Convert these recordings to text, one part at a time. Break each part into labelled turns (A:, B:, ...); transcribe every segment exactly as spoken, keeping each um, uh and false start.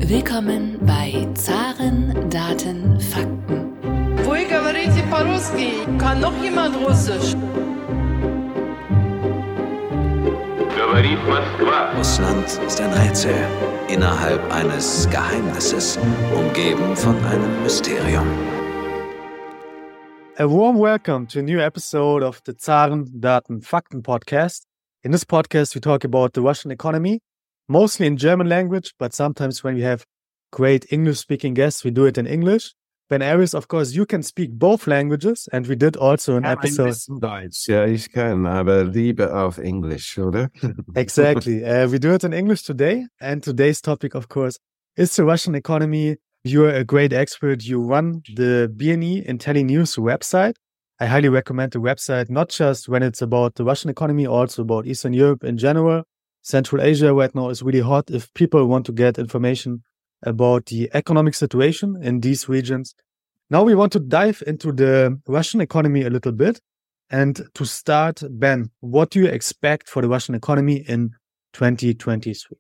A: Willkommen bei Zaren, Daten, Fakten.
B: Вы говорите по-русски? Kann noch jemand Russisch?
C: Говорит Москва.
D: Russland ist ein Rätsel innerhalb eines Geheimnisses, umgeben von einem Mysterium.
E: A warm welcome to a new episode of the Zaren, Daten, Fakten podcast. In this podcast, we talk about the Russian economy, mostly in German language, but sometimes when we have great English-speaking guests, we do it in English. Ben Aries, of course, you can speak both languages, and we did also an
F: Ja,
E: episode.
F: ein bisschen Deutsch, ja, ich kann, aber lieber auf Englisch, oder?
E: Exactly. Uh, we do it in English today, and today's topic, of course, is the Russian economy. You're a great expert. You run the B N E IntelliNews website. I highly recommend the website, not just when it's about the Russian economy, also about Eastern Europe in general. Central Asia right now is really hot if people want to get information about the economic situation in these regions. Now we want to dive into the Russian economy a little bit. And to start, Ben, what do you expect for the Russian economy in twenty twenty-three?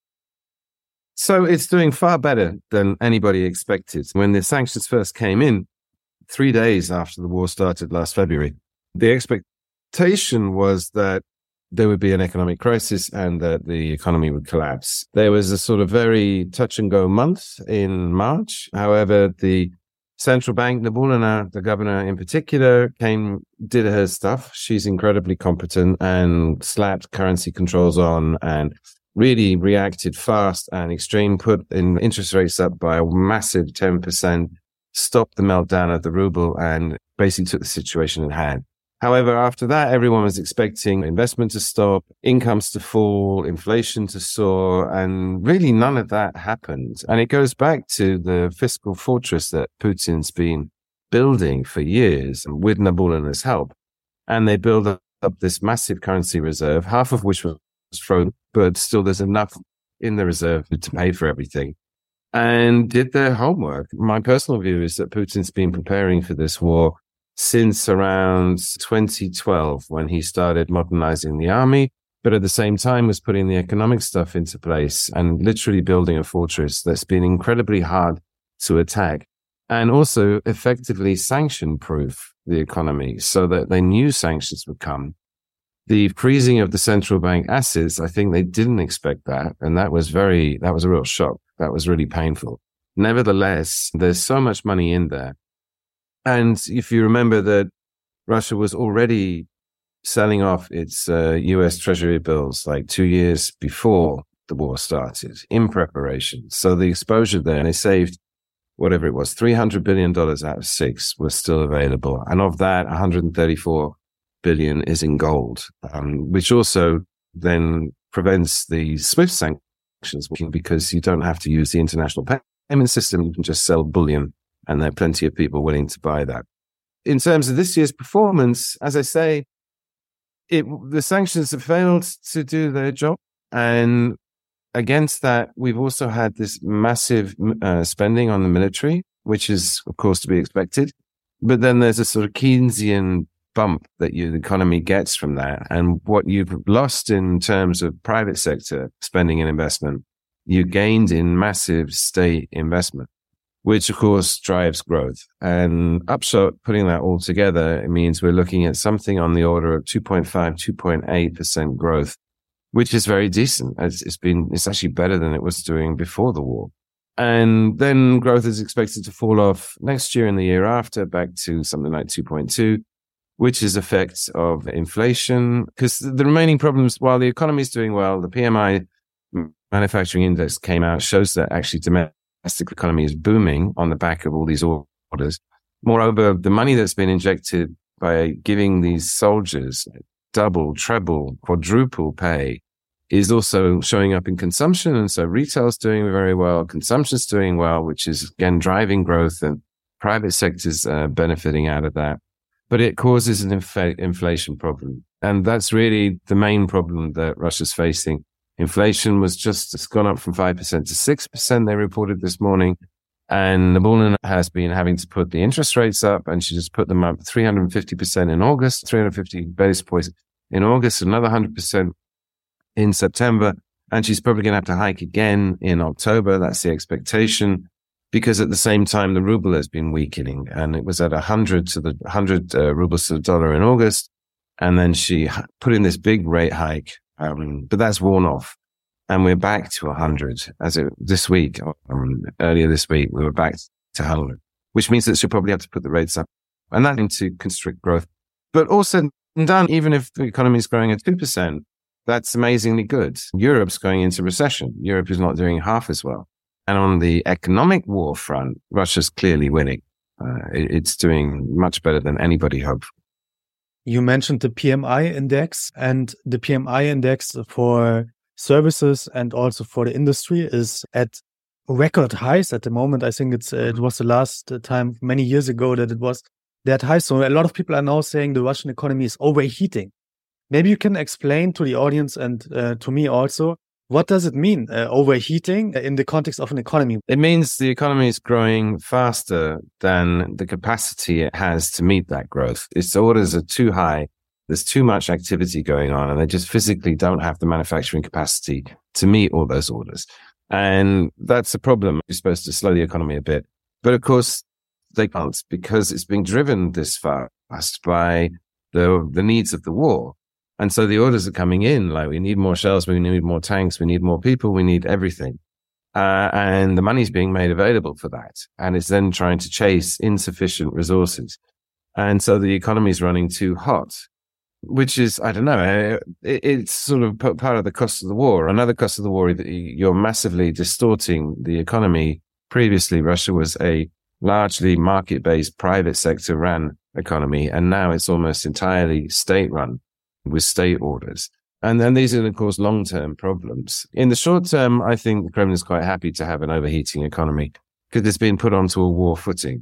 F: So it's doing far better than anybody expected. When the sanctions first came in, three days after the war started last February, the expectation was that there would be an economic crisis and that the economy would collapse. There was a sort of very touch and go month in March. However, the central bank, Nabiullina, the governor in particular, came, did her stuff. She's incredibly competent and slapped currency controls on and really reacted fast and extreme, put in interest rates up by a massive ten percent, stopped the meltdown of the ruble and basically took the situation in hand. However, after that, everyone was expecting investment to stop, incomes to fall, inflation to soar, and really none of that happened. And it goes back to the fiscal fortress that Putin's been building for years with Nabiullina's help. And they build up this massive currency reserve, half of which was thrown, but still there's enough in the reserve to pay for everything. And did their homework. My personal view is that Putin's been preparing for this war since around twenty twelve, when he started modernizing the army, but at the same time was putting the economic stuff into place and literally building a fortress that's been incredibly hard to attack and also effectively sanction-proof the economy so that they knew sanctions would come. The freezing of the central bank assets, I think they didn't expect that. And that was very, that was a real shock. That was really painful. Nevertheless, there's so much money in there. And if you remember that Russia was already selling off its uh, U S Treasury bills like two years before the war started in preparation. So the exposure there, and they saved whatever it was, three hundred billion dollars out of six was still available. And of that, one hundred thirty-four billion is in gold, um, which also then prevents the SWIFT sanctions because you don't have to use the international payment system. You can just sell bullion. And there are plenty of people willing to buy that. In terms of this year's performance, as I say, it, the sanctions have failed to do their job. And against that, we've also had this massive uh, spending on the military, which is, of course, to be expected. But then there's a sort of Keynesian bump that you, the economy gets from that. And what you've lost in terms of private sector spending and investment, you gained in massive state investment, which of course drives growth. And upshot, putting that all together, it means we're looking at something on the order of two point five, two point eight percent growth, which is very decent. It's, it's been, it's actually better than it was doing before the war. And then growth is expected to fall off next year and the year after back to something like two point two, which is effects of inflation. Because the remaining problems, while the economy is doing well, the P M I manufacturing index came out, shows that actually domestic domestic economy is booming on the back of all these orders. Moreover, the money that's been injected by giving these soldiers double, treble, quadruple pay is also showing up in consumption. And so retail's doing very well, consumption's doing well, which is again driving growth, and private sector's uh, benefiting out of that. But it causes an inf- inflation problem. And that's really the main problem that Russia's facing. Inflation was just, it's gone up from five percent to six percent, they reported this morning. And Nabiullina has been having to put the interest rates up, and she just put them up three hundred fifty percent in August, three hundred fifty basis points in August, another one hundred percent in September. And she's probably going to have to hike again in October. That's the expectation, because at the same time, the ruble has been weakening, and it was at one hundred to the one hundred uh, rubles to the dollar in August. And then she put in this big rate hike, um, but that's worn off. And we're back to one hundred as it this week, um, earlier this week, we were back to one hundred, which means that she'll probably have to put the rates up, and that to constrict growth. But also done, even if the economy is growing at two percent, that's amazingly good. Europe's going into recession. Europe is not doing half as well. And on the economic war front, Russia's clearly winning. Uh, it, it's doing much better than anybody hoped.
E: You mentioned the P M I index, and the P M I index for services and also for the industry is at record highs at the moment. I think it's uh, it was the last time many years ago that it was that high. So a lot of people are now saying the Russian economy is overheating. Maybe you can explain to the audience and uh, to me also, what does it mean, uh, overheating in the context of an economy?
F: It means the economy is growing faster than the capacity it has to meet that growth. Its orders are too high. There's too much activity going on, and they just physically don't have the manufacturing capacity to meet all those orders. And that's a problem. You're supposed to slow the economy a bit. But of course, they can't, because it's being driven this fast by the the needs of the war. And so the orders are coming in, like we need more shells, we need more tanks, we need more people, we need everything. Uh, and the money's being made available for that. And it's then trying to chase insufficient resources. And so the economy is running too hot, which is, I don't know, it, it's sort of part of the cost of the war. Another cost of the war, you're massively distorting the economy. Previously, Russia was a largely market-based, private sector-run economy, and now it's almost entirely state-run, with state orders. And then these are, of course, long-term problems. In the short term, I think the Kremlin is quite happy to have an overheating economy because it's been put onto a war footing.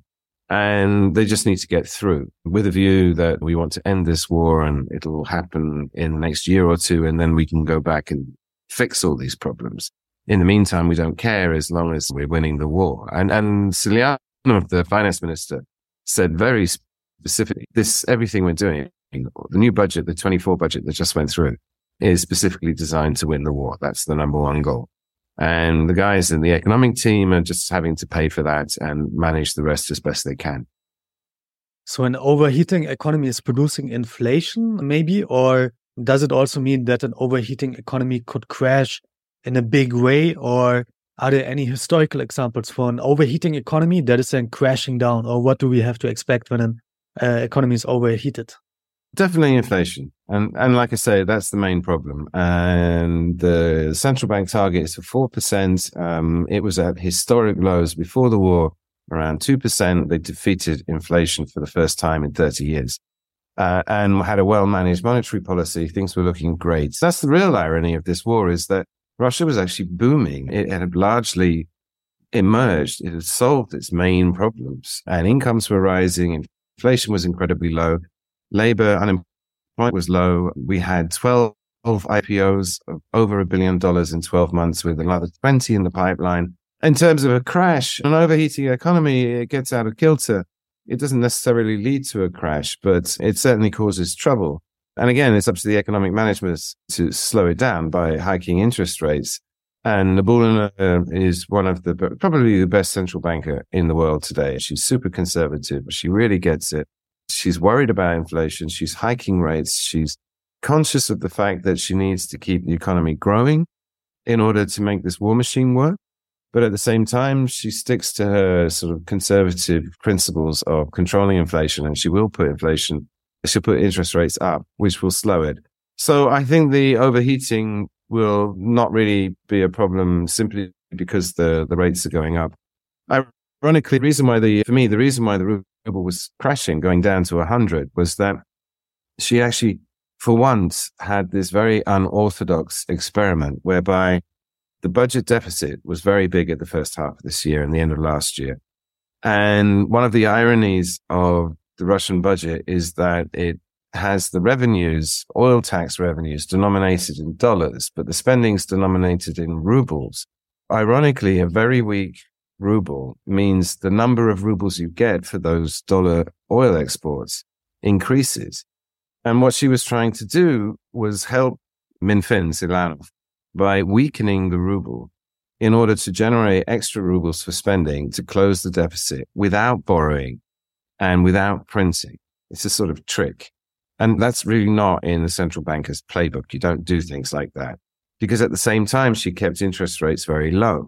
F: And they just need to get through with a view that we want to end this war and it'll happen in the next year or two, and then we can go back and fix all these problems. In the meantime, we don't care as long as we're winning the war. And, and Silyanov, the finance minister, said very specifically, this, everything we're doing, the new budget, the twenty-four budget that just went through, is specifically designed to win the war. That's the number one goal. And the guys in the economic team are just having to pay for that and manage the rest as best they can.
E: So an overheating economy is producing inflation, maybe? Or does it also mean that an overheating economy could crash in a big way? Or are there any historical examples for an overheating economy that is then crashing down? Or what do we have to expect when an uh, economy is overheated?
F: Definitely inflation. And and like I say, that's the main problem. And the central bank target is for four percent. Um, it was at historic lows before the war, around two percent. They defeated inflation for the first time in thirty years uh, and had a well-managed monetary policy. Things were looking great. That's the real irony of this war, is that Russia was actually booming. It had largely emerged. It had solved its main problems, and incomes were rising. Inflation was incredibly low. Labor unemployment was low. We had twelve I P Os of over a billion dollars in twelve months, with another twenty in the pipeline. In terms of a crash, an overheating economy, it gets out of kilter. It doesn't necessarily lead to a crash, but it certainly causes trouble. And again, it's up to the economic management to slow it down by hiking interest rates. And Nabiullina uh, is one of the, probably the best central banker in the world today. She's super conservative. She really gets it. She's worried about inflation. She's hiking rates. She's conscious of the fact that she needs to keep the economy growing in order to make this war machine work. But at the same time, she sticks to her sort of conservative principles of controlling inflation, and she will put inflation, she'll put interest rates up, which will slow it. So I think the overheating will not really be a problem simply because the, the rates are going up. Ironically, the reason why the, for me, the reason why the ruble was crashing, going down to one hundred, was that she actually, for once, had this very unorthodox experiment whereby the budget deficit was very big at the first half of this year and the end of last year. And one of the ironies of the Russian budget is that it has the revenues, oil tax revenues, denominated in dollars, but the spending's denominated in rubles. Ironically, a very weak ruble means the number of rubles you get for those dollar oil exports increases. And what she was trying to do was help Minfin, Silyanov, by weakening the ruble in order to generate extra rubles for spending to close the deficit without borrowing and without printing. It's a sort of trick. And that's really not in the central banker's playbook. You don't do things like that. Because at the same time, she kept interest rates very low.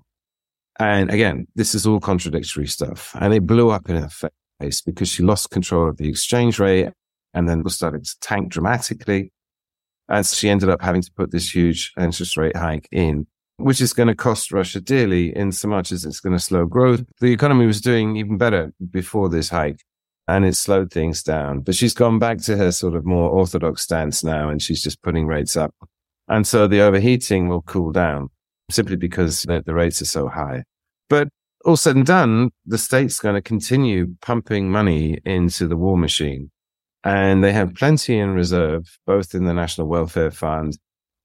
F: And again, this is all contradictory stuff. And it blew up in her face because she lost control of the exchange rate and then started to tank dramatically. And she ended up having to put this huge interest rate hike in, which is going to cost Russia dearly in so much as it's going to slow growth. The economy was doing even better before this hike, and it slowed things down. But she's gone back to her sort of more orthodox stance now, and she's just putting rates up. And so the overheating will cool down simply because the, the rates are so high. But all said and done, the state's going to continue pumping money into the war machine. And they have plenty in reserve, both in the National Welfare Fund.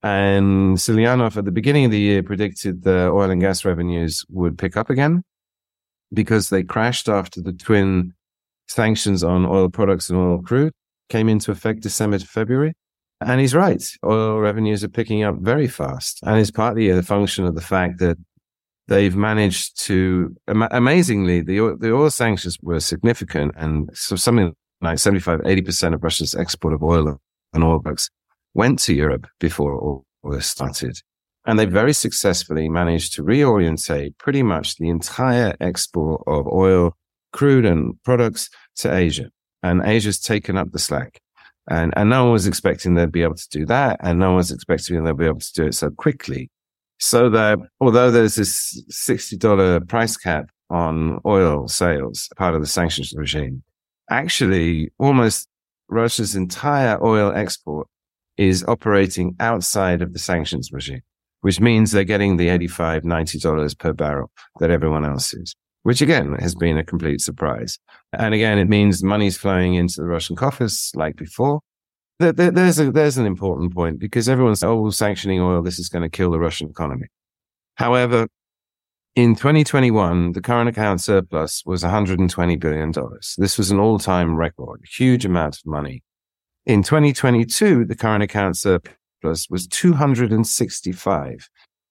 F: And Silyanov at the beginning of the year predicted the oil and gas revenues would pick up again because they crashed after the twin sanctions on oil products and oil crude came into effect December to February. And he's right. Oil revenues are picking up very fast. And it's partly a function of the fact that they've managed to, am- amazingly, the oil, the oil sanctions were significant. And so something like seventy-five, eighty percent of Russia's export of oil and oil products went to Europe before all this started. And they very successfully managed to reorientate pretty much the entire export of oil, crude and products to Asia. And Asia's taken up the slack. And, and no one was expecting they'd be able to do that. And no one was expecting they'd be able to do it so quickly. So that although there's this sixty dollars price cap on oil sales, part of the sanctions regime, actually almost Russia's entire oil export is operating outside of the sanctions regime, which means they're getting the eighty-five dollars, ninety dollars per barrel that everyone else is, which again has been a complete surprise. And again, it means money's flowing into the Russian coffers like before. There, there, there's a, there's an important point because everyone's, oh, sanctioning oil, this is going to kill the Russian economy. However, in twenty twenty-one, the current account surplus was one hundred twenty billion dollars. This was an all-time record, huge amount of money. In twenty twenty-two, the current account surplus was two hundred sixty-five.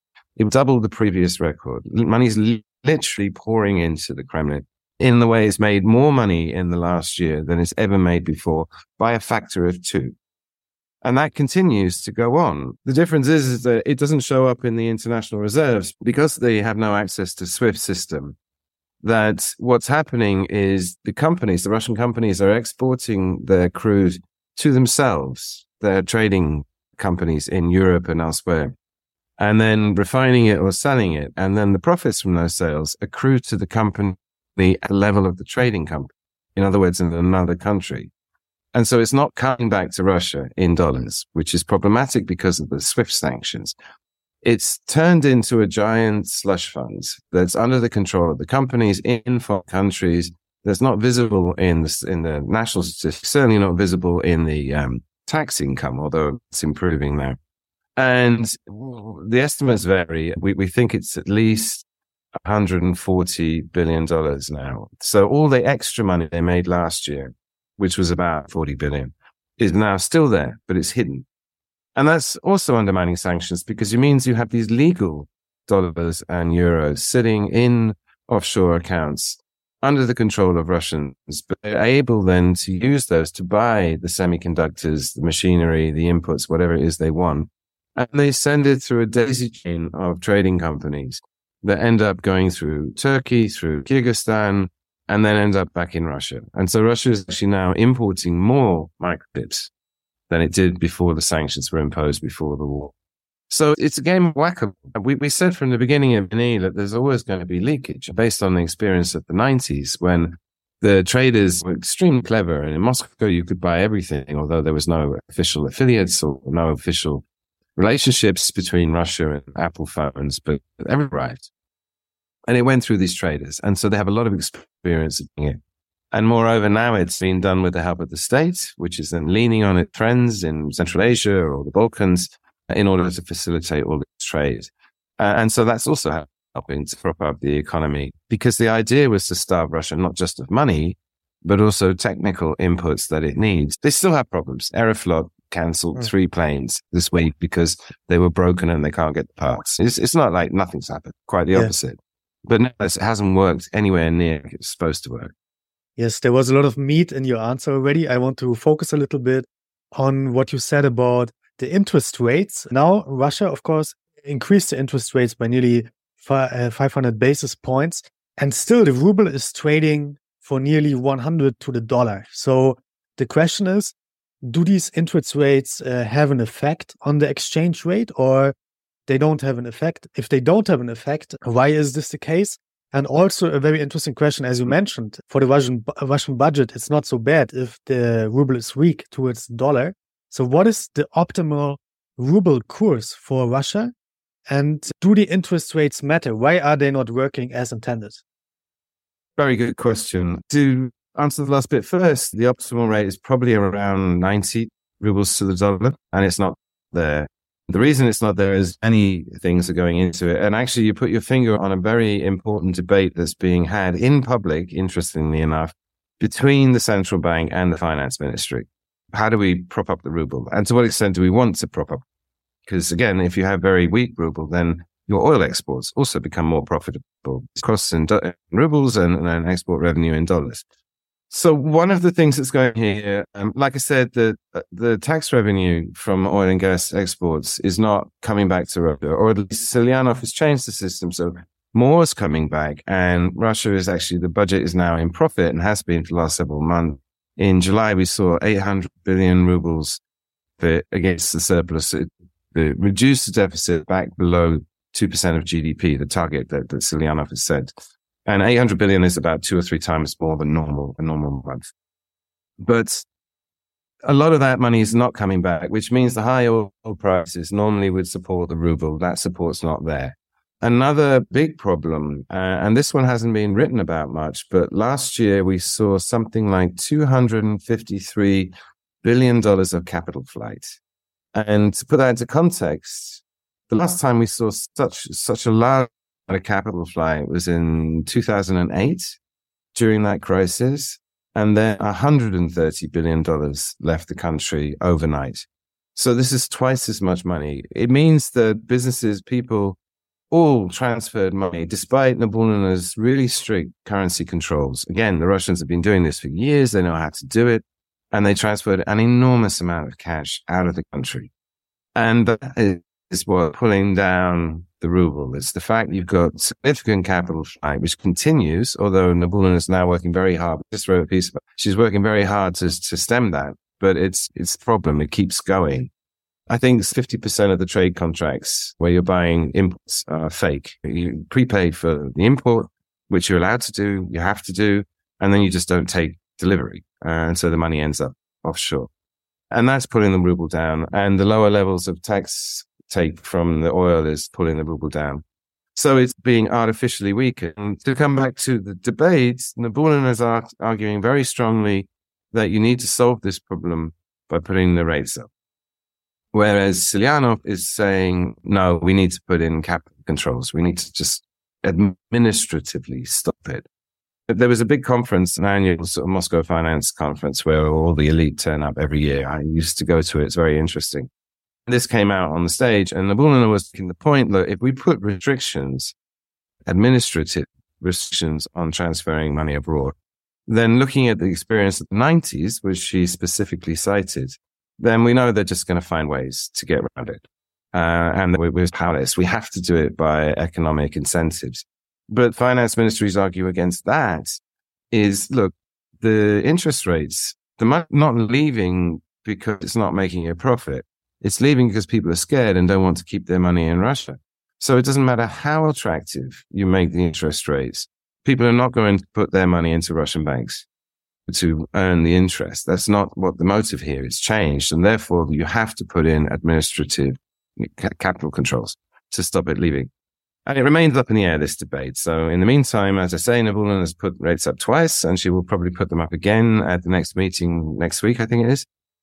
F: It doubled the previous record. Money's literally pouring into the Kremlin in the way it's made more money in the last year than it's ever made before by a factor of two. And that continues to go on. The difference is, is that it doesn't show up in the international reserves because they have no access to SWIFT system. That what's happening is the companies, the Russian companies are exporting their crude to themselves, their trading companies in Europe and elsewhere, and then refining it or selling it. And then the profits from those sales accrue to the company at the level of the trading company. In other words, in another country. And so it's not coming back to Russia in dollars, which is problematic because of the SWIFT sanctions. It's turned into a giant slush fund that's under the control of the companies in foreign countries, that's not visible in the, in the national statistics, certainly not visible in the um, tax income, although it's improving now. And the estimates vary. We, we think it's at least one hundred forty billion dollars now. So all the extra money they made last year, which was about forty billion, is now still there, but it's hidden. And that's also undermining sanctions because it means you have these legal dollars and euros sitting in offshore accounts under the control of Russians, but they're able then to use those to buy the semiconductors, the machinery, the inputs, whatever it is they want. And they send it through a daisy chain of trading companies that end up going through Turkey, through Kyrgyzstan, and then end up back in Russia. And so Russia is actually now importing more microchips than it did before the sanctions were imposed before the war. So it's a game of whack-a-mole. We, we said from the beginning of N E that there's always going to be leakage based on the experience of the nineties when the traders were extremely clever. And in Moscow, you could buy everything, although there was no official affiliates or no official relationships between Russia and Apple phones, but everything arrived. And it went through these traders. And so they have a lot of experience of doing it. And moreover, now it's being done with the help of the state, which is then leaning on its friends in Central Asia or the Balkans in order to facilitate all this trade. Uh, and so that's also helping to prop up the economy because the idea was to starve Russia not just of money, but also technical inputs that it needs. They still have problems. Aeroflot cancelled
E: Mm.
F: three planes this week because they were broken and they can't get the parts. It's, it's not like nothing's happened, quite the
E: Yeah.
F: opposite. But no, it hasn't worked anywhere near like it's supposed to work.
E: Yes, there was a lot of meat in your answer already. I want to focus a little bit on what you said about the interest rates. Now, Russia, of course, increased the interest rates by nearly fi- uh, five hundred basis points. And still, the ruble is trading for nearly one hundred to the dollar. So the question is, do these interest rates uh, have an effect on the exchange rate, or they don't have an effect? If they don't have an effect, why is this the case? And also a very interesting question, as you mentioned, for the Russian bu- Russian budget, it's not so bad if the ruble is weak towards the dollar. So what is the optimal ruble course for Russia? And do the interest rates matter? Why are they not working as intended?
F: Very good question. To answer the last bit first, the optimal rate is probably around ninety rubles to the dollar, and it's not there. The reason it's not there is many things are going into it. And actually, you put your finger on a very important debate that's being had in public, interestingly enough, between the central bank and the finance ministry. How do we prop up the ruble? And to what extent do we want to prop up? Because again, if you have very weak ruble, then your oil exports also become more profitable. Costs in do- rubles and, and export revenue in dollars. So one of the things that's going here, um, like I said, the the tax revenue from oil and gas exports is not coming back to Russia, or at least Selyanov has changed the system. So more is coming back, and Russia is actually, the budget is now in profit and has been for the last several months. In July, we saw eight hundred billion rubles for, against the surplus. It, it reduced the deficit back below two percent of G D P, the target that, that Selyanov has set. And eight hundred billion is about two or three times more than normal, a normal month. But a lot of that money is not coming back, which means the high oil prices normally would support the ruble. That support's not there. Another big problem, uh, and this one hasn't been written about much, but last year we saw something like two hundred fifty-three billion dollars of capital flight. And to put that into context, the last time we saw such such a large a capital flight was in two thousand eight during that crisis, and then one hundred thirty billion dollars left the country overnight. So this is twice as much money. It means that businesses, people, all transferred money despite Nabiullina's really strict currency controls. Again, the Russians have been doing this for years. They know how to do it, and they transferred an enormous amount of cash out of the country. And that is what pulling down the ruble. It's the fact you've got significant capital flight, which continues, although Nabiullina is now working very hard. I just wrote a piece about, she's working very hard to, to stem that, but it's, it's the problem. It keeps going. I think fifty percent of the trade contracts where you're buying imports are fake. You prepaid for the import, which you're allowed to do, you have to do, and then you just don't take delivery. Uh, and so the money ends up offshore. And that's pulling the ruble down. And the lower levels of tax take from the oil is pulling the ruble down. So it's being artificially weaker. And to come back to the debates, Nabiullina is ar- arguing very strongly that you need to solve this problem by putting the rates up. Whereas Selyanov is saying, no, we need to put in capital controls. We need to just administratively stop it. But there was a big conference, an annual sort of Moscow Finance Conference, where all the elite turn up every year. I used to go to it. It's very interesting. This came out on the stage, and Nabiullina was making the point that if we put restrictions, administrative restrictions on transferring money abroad, then looking at the experience of the nineties, which she specifically cited, then we know they're just going to find ways to get around it. Uh, and we're, we're powerless. We have to do it by economic incentives. But finance ministries argue against that is, look, the interest rates, the money not leaving because it's not making a profit. It's leaving because people are scared and don't want to keep their money in Russia. So it doesn't matter how attractive you make the interest rates. People are not going to put their money into Russian banks to earn the interest. That's not what the motive here is. Changed. And therefore you have to put in administrative capital controls to stop it leaving. And it remains up in the air, this debate. So in the meantime, as I say, Nabiullina has put rates up twice, and she will probably put them up again at the next meeting next week, I think it is.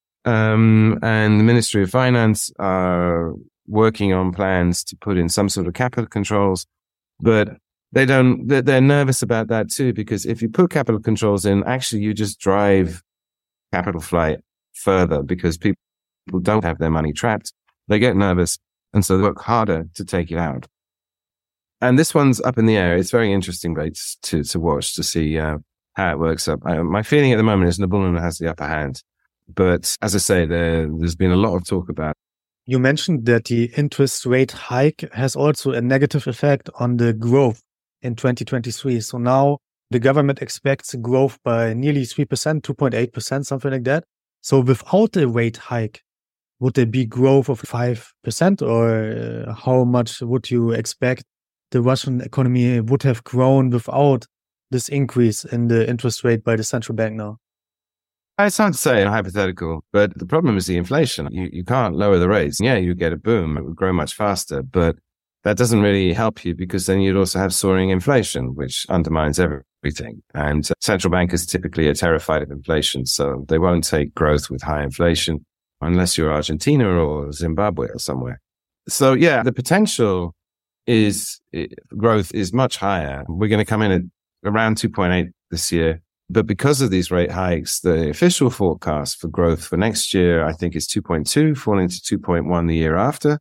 F: Um, and the Ministry of Finance are working on plans to put in some sort of capital controls, but they don't, they're, they're nervous about that too, because if you put capital controls in, actually you just drive capital flight further because people People don't have their money trapped. They get nervous, and so they work harder to take it out. And this one's up in the air. It's very interesting, right, to, to watch, to see uh, how it works up. I, my feeling at the moment is Nabullon has the upper hand. But as I say, there, there's been a lot of talk about.
E: You mentioned that the interest rate hike has also a negative effect on the growth in twenty twenty-three. So now the government expects growth by nearly three percent, two point eight percent, something like that. So without the rate hike, would there be growth of five percent, or uh, how much would you expect the Russian economy would have grown without this increase in the interest rate by the central bank now?
F: It's hard to say, hypothetical, but the problem is the inflation. You you can't lower the rates. Yeah, you get a boom. It would grow much faster, but that doesn't really help you because then you'd also have soaring inflation, which undermines everything. And central bankers typically are terrified of inflation, so they won't take growth with high inflation unless you're Argentina or Zimbabwe or somewhere. So yeah, the potential is growth is much higher. We're going to come in at around two point eight this year. But because of these rate hikes, the official forecast for growth for next year, I think, is two point two, falling to two point one the year after.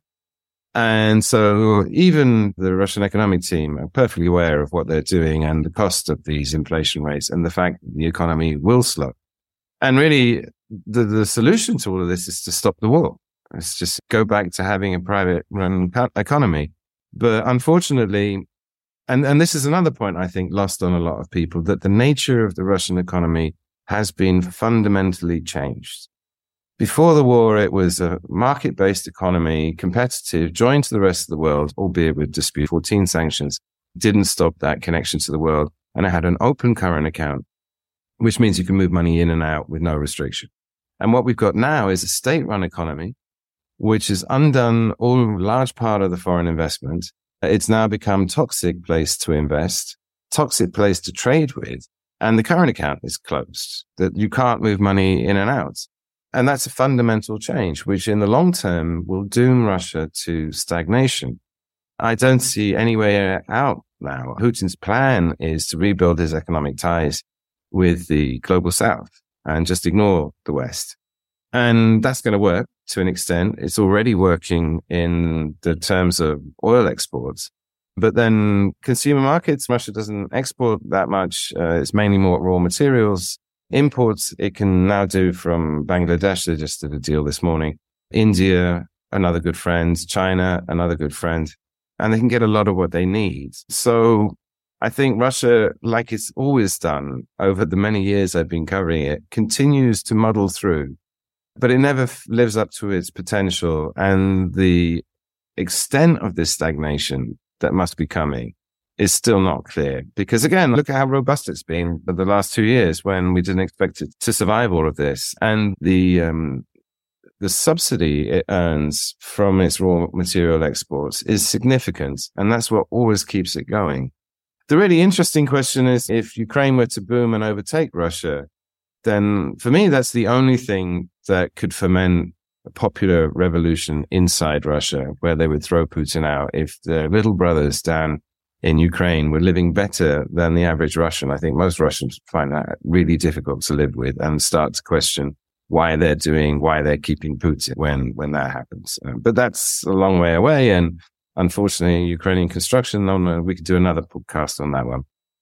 F: And so even the Russian economic team are perfectly aware of what they're doing and the cost of these inflation rates and the fact that the economy will slow. And really, the, the solution to all of this is to stop the war. It's just go back to having a private run economy. But unfortunately, And and this is another point, I think, lost on a lot of people, that the nature of the Russian economy has been fundamentally changed. Before the war, it was a market-based economy, competitive, joined to the rest of the world, albeit with dispute. fourteen sanctions didn't stop that connection to the world. And it had an open current account, which means you can move money in and out with no restriction. And what we've got now is a state-run economy, which has undone all large part of the foreign investment. It's now become toxic place to invest, toxic place to trade with, and the current account is closed, that you can't move money in and out. And that's a fundamental change, which in the long term will doom Russia to stagnation. I don't see any way out now. Putin's plan is to rebuild his economic ties with the global south and just ignore the West. And that's going to work to an extent. It's already working in the terms of oil exports. But then consumer markets, Russia doesn't export that much. Uh, it's mainly more raw materials. Imports, it can now do from Bangladesh. They just did a deal this morning. India, another good friend. China, another good friend. And they can get a lot of what they need. So I think Russia, like it's always done over the many years I've been covering it, continues to muddle through. But it never f- lives up to its potential. And the extent of this stagnation that must be coming is still not clear. Because again, look at how robust it's been for the last two years when we didn't expect it to survive all of this. And the um, the subsidy it earns from its raw material exports is significant. And that's what always keeps it going. The really interesting question is, if Ukraine were to boom and overtake Russia, then for me, that's the only thing that could foment a popular revolution inside Russia, where they would throw Putin out. If their little brothers down in Ukraine were living better than the average Russian, I think most Russians find that really difficult to live with and start to question why they're doing, why they're keeping Putin when, when that happens. Uh, but that's a long way away. And unfortunately, Ukrainian construction, no, we could do another podcast on that one.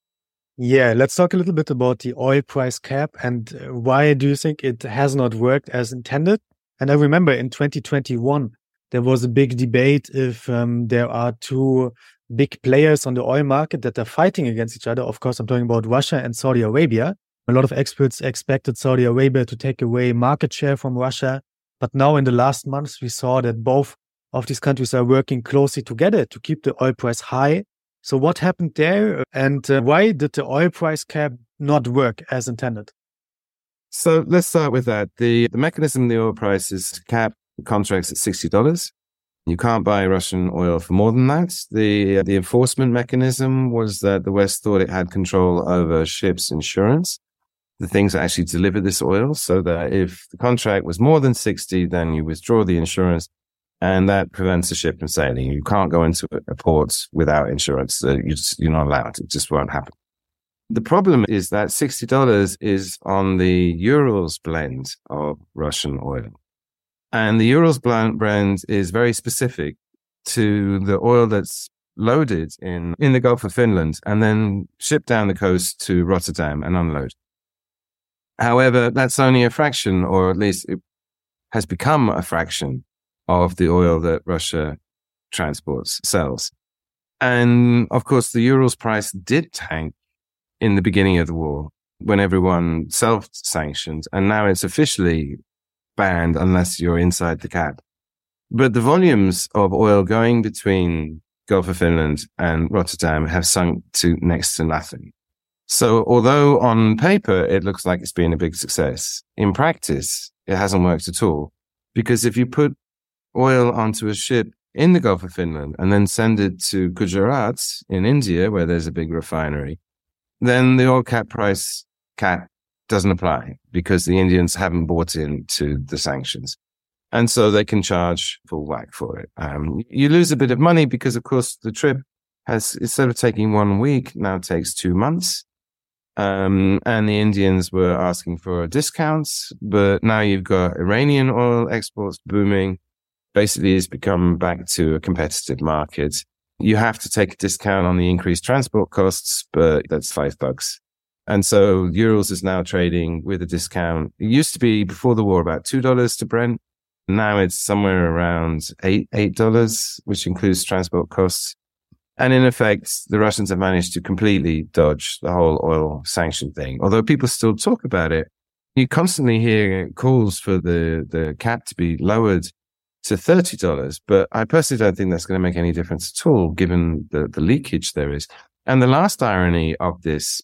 E: Yeah, let's talk a little bit about the oil price cap and why do you think it has not worked as intended? And I remember in twenty twenty-one, there was a big debate if um, there are two big players on the oil market that are fighting against each other. Of course, I'm talking about Russia and Saudi Arabia. A lot of experts expected Saudi Arabia to take away market share from Russia. But now in the last months, we saw that both of these countries are working closely together to keep the oil price high. So what happened there, and uh, why did the oil price cap not work as intended?
F: So let's start with that. The, the mechanism of the oil price is to cap contracts at sixty dollars. You can't buy Russian oil for more than that. The, the enforcement mechanism was that the West thought it had control over ships' insurance, the things that actually deliver this oil, so that if the contract was more than sixty, then you withdraw the insurance. And that prevents the ship from sailing. You can't go into a port without insurance. Uh, you just, you're not allowed. It just won't happen. The problem is that sixty dollars is on the Urals blend of Russian oil. And the Urals brand is very specific to the oil that's loaded in, in the Gulf of Finland and then shipped down the coast to Rotterdam and unload. However, that's only a fraction, or at least it has become a fraction of the oil that Russia transports, sells. And of course, the Urals price did tank in the beginning of the war when everyone self-sanctioned, and now it's officially banned unless you're inside the cap. But the volumes of oil going between Gulf of Finland and Rotterdam have sunk to next to nothing. So although on paper it looks like it's been a big success, in practice it hasn't worked at all. Because if you put oil onto a ship in the Gulf of Finland and then send it to Gujarat in India, where there's a big refinery, then the oil cap price cap doesn't apply because the Indians haven't bought into the sanctions. And so they can charge full whack for it. Um, you lose a bit of money because, of course, the trip has, instead of taking one week, now takes two months. Um, and the Indians were asking for discounts, but now you've got Iranian oil exports booming. Basically, it's become back to a competitive market. You have to take a discount on the increased transport costs, but that's five bucks. And so Urals is now trading with a discount. It used to be before the war about two dollars to Brent. Now it's somewhere around eight, eight dollars, which includes transport costs. And in effect, the Russians have managed to completely dodge the whole oil sanction thing. Although people still talk about it, you constantly hear calls for the, the cap to be lowered to thirty dollars. But I personally don't think that's going to make any difference at all, given the, the leakage there is. And the last irony of this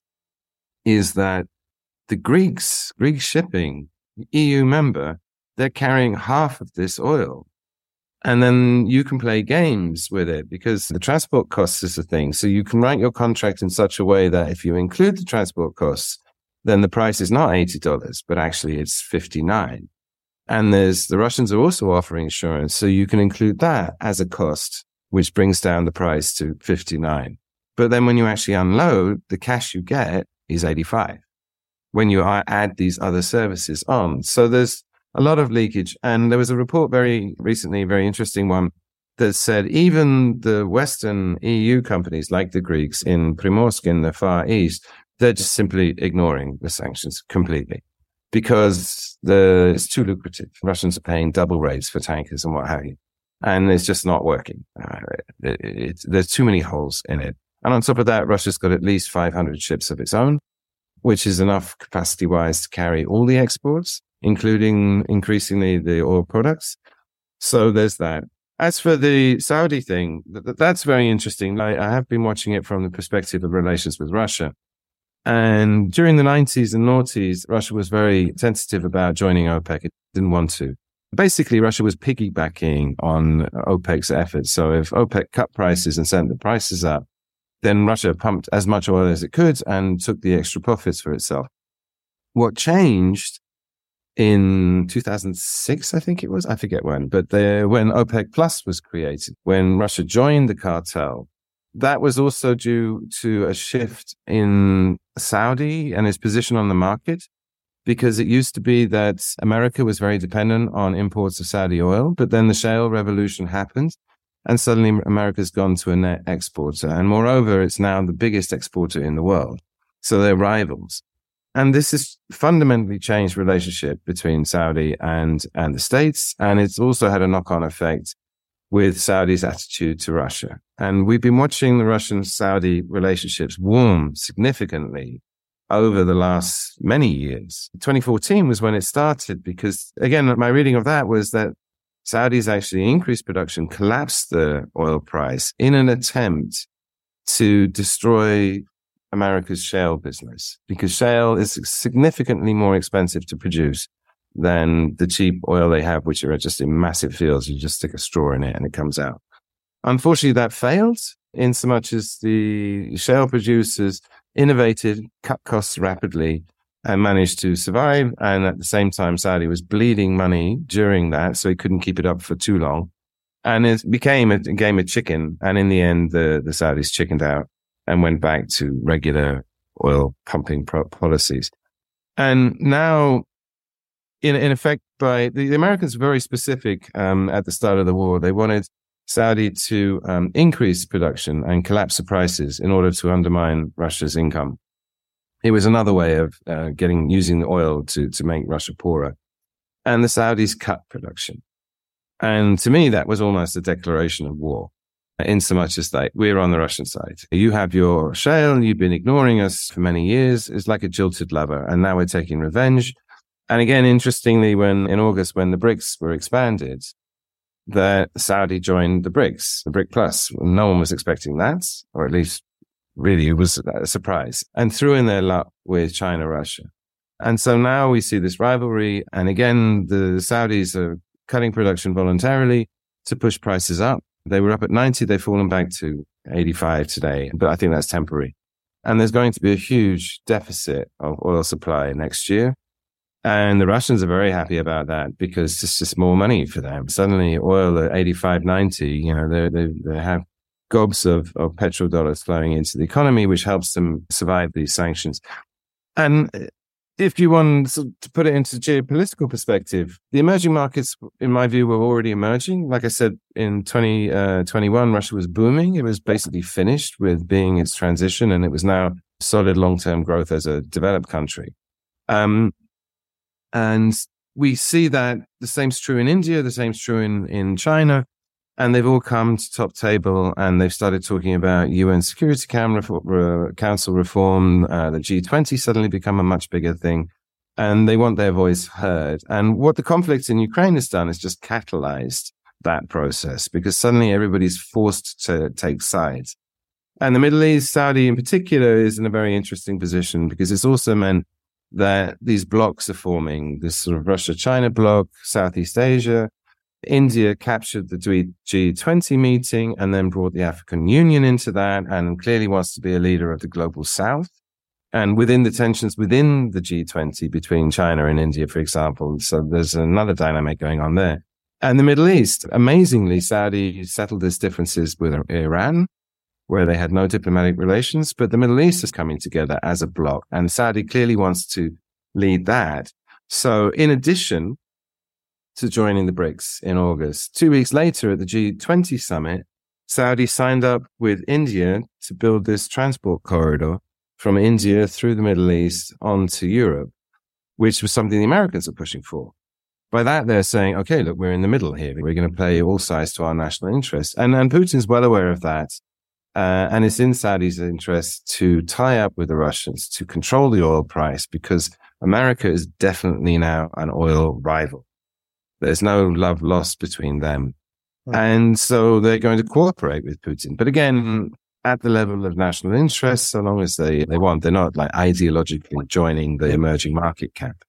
F: is that the Greeks, Greek shipping, E U member, they're carrying half of this oil. And then you can play games with it because the transport costs is a thing. So you can write your contract in such a way that if you include the transport costs, then the price is not eighty dollars, but actually it's fifty-nine dollars. And there's, the Russians are also offering insurance. So you can include that as a cost, which brings down the price to fifty-nine dollars. But then when you actually unload, the cash you get is eighty-five dollars when you add these other services on. So there's a lot of leakage. And there was a report very recently, very interesting one, that said even the Western E U companies like the Greeks in Primorsk in the Far East, they're just simply ignoring the sanctions completely because the, it's too lucrative. Russians are paying double rates for tankers and what have you. And it's just not working. Uh, it, it, there's too many holes in it. And on top of that, Russia's got at least five hundred ships of its own, which is enough capacity-wise to carry all the exports, including increasingly the oil products. So there's that. As for the Saudi thing, th- that's very interesting. I, I have been watching it from the perspective of relations with Russia. And during the nineties and noughties, Russia was very tentative about joining OPEC. It didn't want to. Basically, Russia was piggybacking on OPEC's efforts. So if OPEC cut prices and sent the prices up, then Russia pumped as much oil as it could and took the extra profits for itself. What changed in two thousand six, I think it was, I forget when, but the, when OPEC Plus was created, when Russia joined the cartel, that was also due to a shift in Saudi and its position on the market, because it used to be that America was very dependent on imports of Saudi oil, but then the shale revolution happened. And suddenly America's gone to a net exporter. And moreover, it's now the biggest exporter in the world. So they're rivals. And this has fundamentally changed the relationship between Saudi and, and the States. And it's also had a knock-on effect with Saudi's attitude to Russia. And we've been watching the Russian-Saudi relationships warm significantly over the last many years. twenty fourteen was when it started because, again, my reading of that was that Saudis actually increased production, collapsed the oil price in an attempt to destroy America's shale business, because shale is significantly more expensive to produce than the cheap oil they have, which are just in massive fields. You just stick a straw in it and it comes out. Unfortunately, that failed in so much as the shale producers innovated, cut costs rapidly, and managed to survive. And at the same time, Saudi was bleeding money during that, so he couldn't keep it up for too long. And it became a, a game of chicken. And in the end, the, the Saudis chickened out and went back to regular oil pumping pro- policies. And now in in effect, by the, the Americans were very specific um, at the start of the war. They wanted Saudi to um, increase production and collapse the prices in order to undermine Russia's income. It was another way of uh, getting using the oil to to make Russia poorer. And the Saudis cut production. And to me, that was almost a declaration of war, in so much as that we're on the Russian side. You have your shale, you've been ignoring us for many years. It's like a jilted lover, and now we're taking revenge. And again, interestingly, when in August, when the BRICS were expanded, that Saudi joined the BRICS, the BRIC Plus. No one was expecting that, or at least really it was a surprise, and threw in their luck with China, Russia. And so now we see this rivalry. And again, the Saudis are cutting production voluntarily to push prices up. They were up at ninety. They've fallen back to eighty-five today, but I think that's temporary. And there's going to be a huge deficit of oil supply next year. And the Russians are very happy about that because it's just more money for them. Suddenly oil at eighty-five, ninety, you know, they, they, they have gobs of, of petrodollars flowing into the economy, which helps them survive these sanctions. And if you want to put it into geopolitical perspective, the emerging markets, in my view, were already emerging. Like I said, in twenty twenty-one, Russia was booming. It was basically finished with being its transition, and it was now solid long-term growth as a developed country. Um, and we see that the same's true in India, the same's true in, in China. And they've all come to top table, and they've started talking about U N Security Council reform. Uh, the G twenty suddenly become a much bigger thing, and they want their voice heard. And what the conflict in Ukraine has done is just catalyzed that process, because suddenly everybody's forced to take sides. And the Middle East, Saudi in particular, is in a very interesting position, because it's also meant that these blocks are forming, this sort of Russia-China bloc, Southeast Asia. India captured the G twenty meeting and then brought the African Union into that, and clearly wants to be a leader of the global South. And within the tensions within the G twenty between China and India, for example, so there's another dynamic going on there. And the Middle East, amazingly, Saudi settled its differences with Iran, where they had no diplomatic relations, but the Middle East is coming together as a bloc, and Saudi clearly wants to lead that. So in addition to joining the BRICS in August, two weeks later at the G twenty summit, Saudi signed up with India to build this transport corridor from India through the Middle East onto Europe, which was something the Americans are pushing for. By that, they're saying, okay, look, we're in the middle here. We're going to play all sides to our national interests. And, and Putin's well aware of that. Uh, and it's in Saudi's interest to tie up with the Russians, to control the oil price, because America is definitely now an oil rival. There's no love lost between them. Hmm. And so they're going to cooperate with Putin. But again, at the level of national interest, so long as they, they want, they're not like ideologically joining the emerging market camp.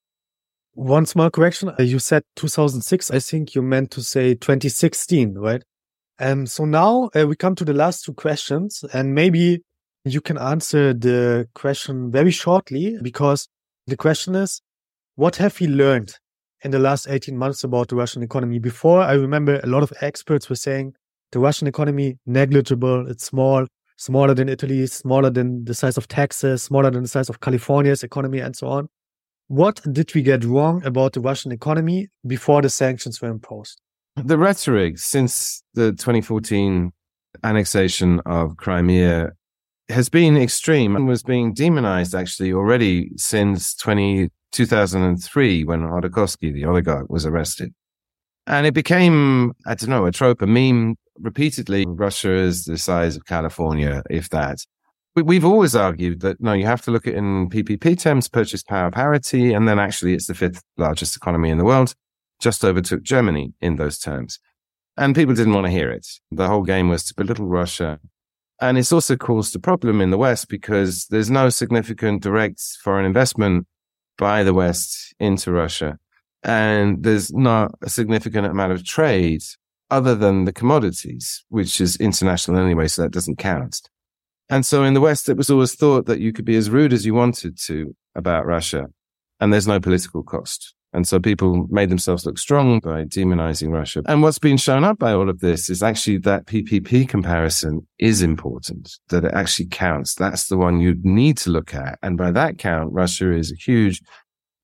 E: One small correction. You said two thousand six. I think you meant to say twenty sixteen, right? Um, so now uh, we come to the last two questions, and maybe you can answer the question very shortly, because the question is, what have we learned in the last eighteen months about the Russian economy? Before, I remember a lot of experts were saying the Russian economy, negligible, it's small, smaller than Italy, smaller than the size of Texas, smaller than the size of California's economy, and so on. What did we get wrong about the Russian economy before the sanctions were imposed?
F: The rhetoric since the twenty fourteen annexation of Crimea has been extreme and was being demonized actually already since two thousand three when Khodorkovsky, the oligarch, was arrested. And it became, I don't know, a trope, a meme repeatedly. Russia is the size of California, if that. We've always argued that, no, you have to look at it in P P P terms, purchase power parity, and then actually it's the fifth largest economy in the world, just overtook Germany in those terms. And people didn't want to hear it. The whole game was to belittle Russia. And it's also caused a problem in the West because there's no significant direct foreign investment by the West into Russia. And there's not a significant amount of trade other than the commodities, which is international anyway, so that doesn't count. And so in the West, it was always thought that you could be as rude as you wanted to about Russia, and there's no political cost. And so people made themselves look strong by demonizing Russia. And what's been shown up by all of this is actually that P P P comparison is important, that it actually counts. That's the one you need to look at. And by that count, Russia is a huge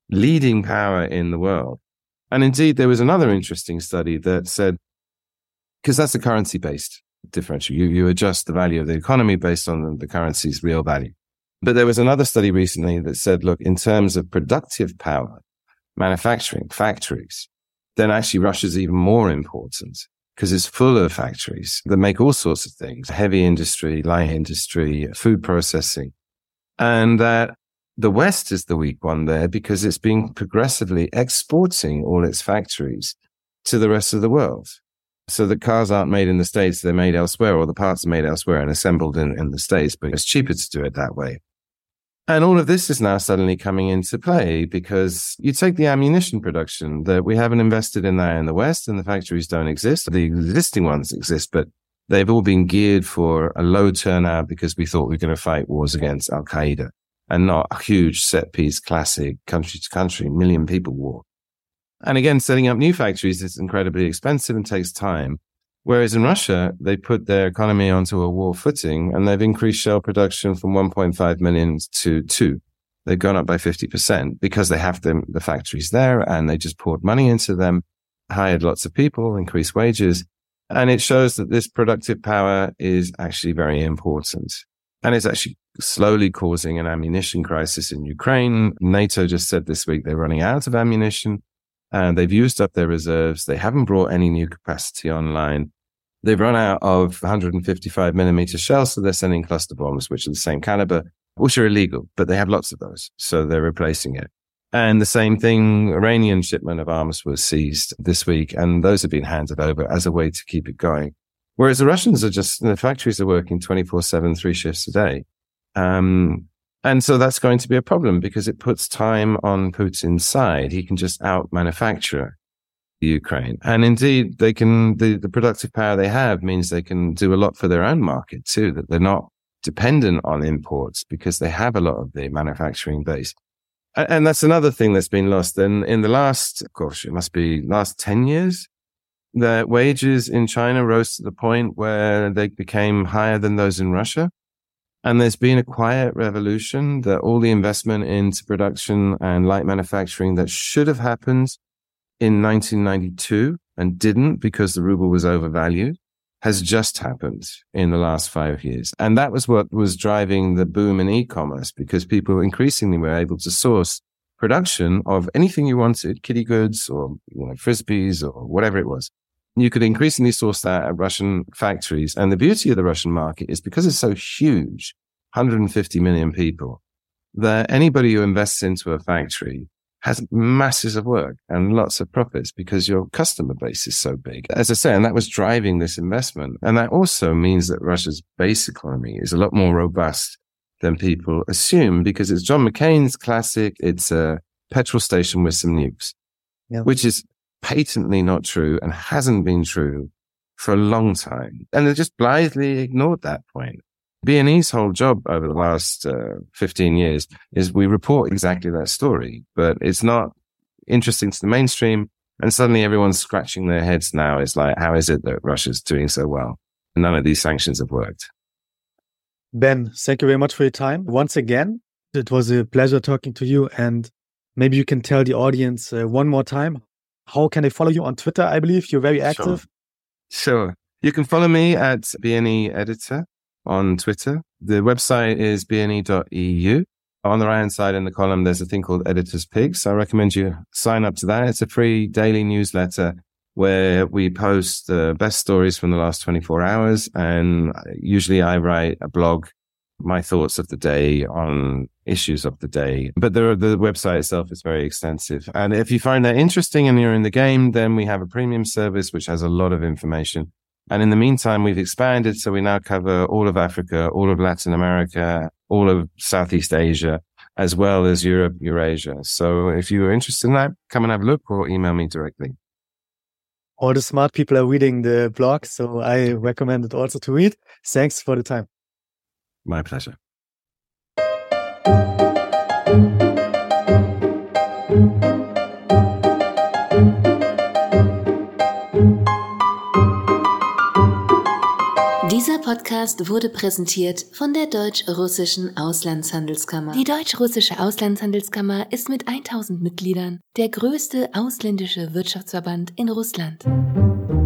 F: leading power in the world. And indeed, there was another interesting study that said, because that's a currency-based differential, you, you adjust the value of the economy based on the currency's real value. But there was another study recently that said, look, in terms of productive power, manufacturing, factories, then actually Russia's even more important because it's full of factories that make all sorts of things, heavy industry, light industry, food processing. And that the West is the weak one there because it's been progressively exporting all its factories to the rest of the world. So the cars aren't made in the States, they're made elsewhere, or the parts are made elsewhere and assembled in, in the States, but it's cheaper to do it that way. And all of this is now suddenly coming into play because you take the ammunition production that we haven't invested in that in the West and the factories don't exist. The existing ones exist, but they've all been geared for a low turnout because we thought we were going to fight wars against Al-Qaeda and not a huge set piece, classic country to country, million people war. And again, setting up new factories is incredibly expensive and takes time. Whereas in Russia, they put their economy onto a war footing and they've increased shell production from one point five million to two. They've gone up by fifty percent because they have the, the factories there and they just poured money into them, hired lots of people, increased wages. And it shows that this productive power is actually very important. And it's actually slowly causing an ammunition crisis in Ukraine. NATO just said this week they're running out of ammunition. And they've used up their reserves. They haven't brought any new capacity online. They've run out of one fifty-five millimeter shells, so they're sending cluster bombs, which are the same caliber, which are illegal, but they have lots of those. So they're replacing it. And the same thing, Iranian shipment of arms was seized this week, and those have been handed over as a way to keep it going. Whereas the Russians are just, the factories are working twenty-four seven, three shifts a day. Um, And so that's going to be a problem because it puts time on Putin's side. He can just out-manufacture Ukraine. And indeed, they can, the, the productive power they have means they can do a lot for their own market too, that they're not dependent on imports because they have a lot of the manufacturing base. And, and that's another thing that's been lost. And in the last, gosh, it must be last ten years, the wages in China rose to the point where they became higher than those in Russia. And there's been a quiet revolution that all the investment into production and light manufacturing that should have happened in nineteen ninety-two and didn't because the ruble was overvalued has just happened in the last five years. And that was what was driving the boom in e-commerce because people increasingly were able to source production of anything you wanted, kiddie goods or you know, frisbees or whatever it was. You could increasingly source that at Russian factories. And the beauty of the Russian market is because it's so huge, one hundred fifty million people, that anybody who invests into a factory has masses of work and lots of profits because your customer base is so big. As I say, and that was driving this investment. And that also means that Russia's base economy is a lot more robust than people assume because it's John McCain's classic, it's a petrol station with some nukes, yeah. Which is patently not true and hasn't been true for a long time. And they just blithely ignored that point. B and E's whole job over the last uh, fifteen years is we report exactly that story, but it's not interesting to the mainstream. And suddenly everyone's scratching their heads now. It's like, how is it that Russia's doing so well? None of these sanctions have worked.
E: Ben, thank you very much for your time. Once again, it was a pleasure talking to you. And maybe you can tell the audience uh, one more time, how can they follow you on Twitter? I believe you're very active.
F: Sure. sure. You can follow me at B N E Editor on Twitter. The website is b n e dot e u. On the right-hand side in the column, there's a thing called Editor's Picks. I recommend you sign up to that. It's a free daily newsletter where we post the best stories from the last twenty-four hours. And usually I write a blog, my thoughts of the day on issues of the day. But the, the website itself is very extensive. And if you find that interesting and you're in the game, then we have a premium service which has a lot of information. And in the meantime, we've expanded. So we now cover all of Africa, all of Latin America, all of Southeast Asia, as well as Europe, Eurasia. So if you're interested in that, come and have a look or email me directly.
E: All the smart people are reading the blog, so I recommend it also to read. Thanks for the time.
F: My pleasure.
A: Dieser Dieser Podcast wurde präsentiert von der Deutsch-Russischen Auslandshandelskammer. Die Deutsch-Russische Auslandshandelskammer ist mit tausend Mitgliedern der größte ausländische Wirtschaftsverband in Russland.